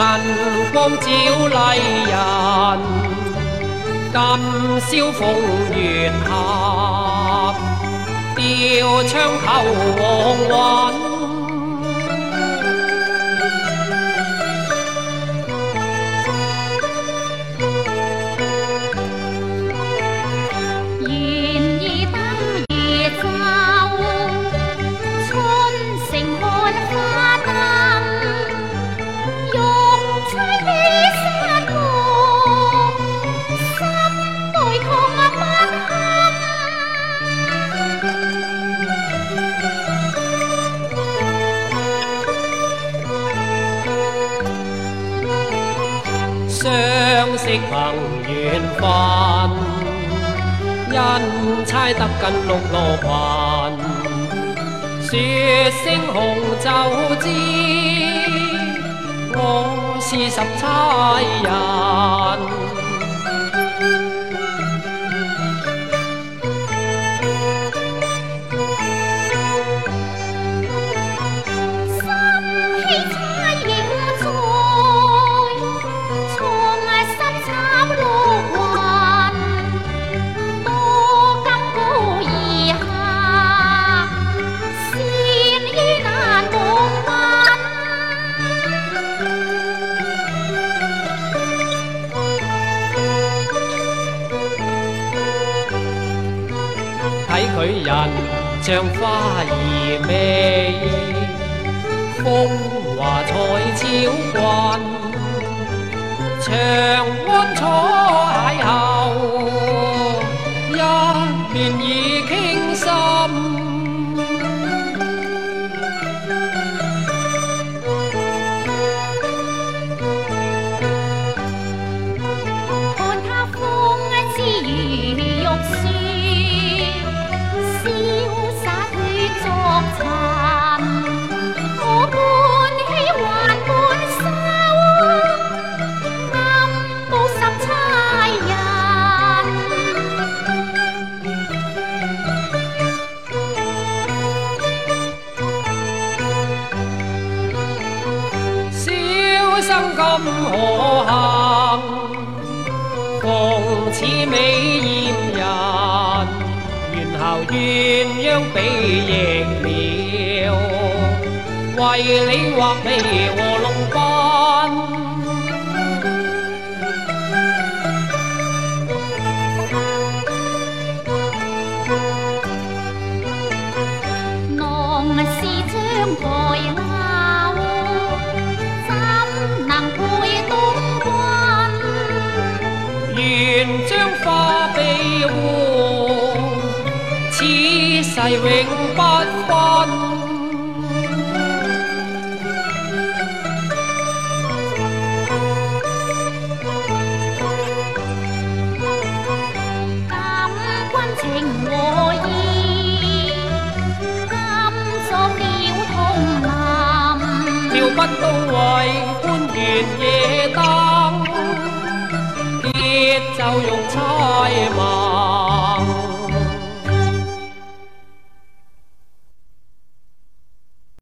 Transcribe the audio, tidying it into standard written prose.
銀光照麗人，今宵風月合，吊槍扣黃韻。相識憑緣分，因猜得近六羅裙，說聲紅就知我是十差人。睇佢人像花兒美，風華彩超群，長安楚邂逅，一面已傾心。生今可幸，逢此美豔人，緣後鴛鴦比翼了，為你畫眉和龍賓。 浪是將台願將花比換，此世永不分。 感君情和意，今作了同林， 妙不到位，觀圓夜燈。就用猜問。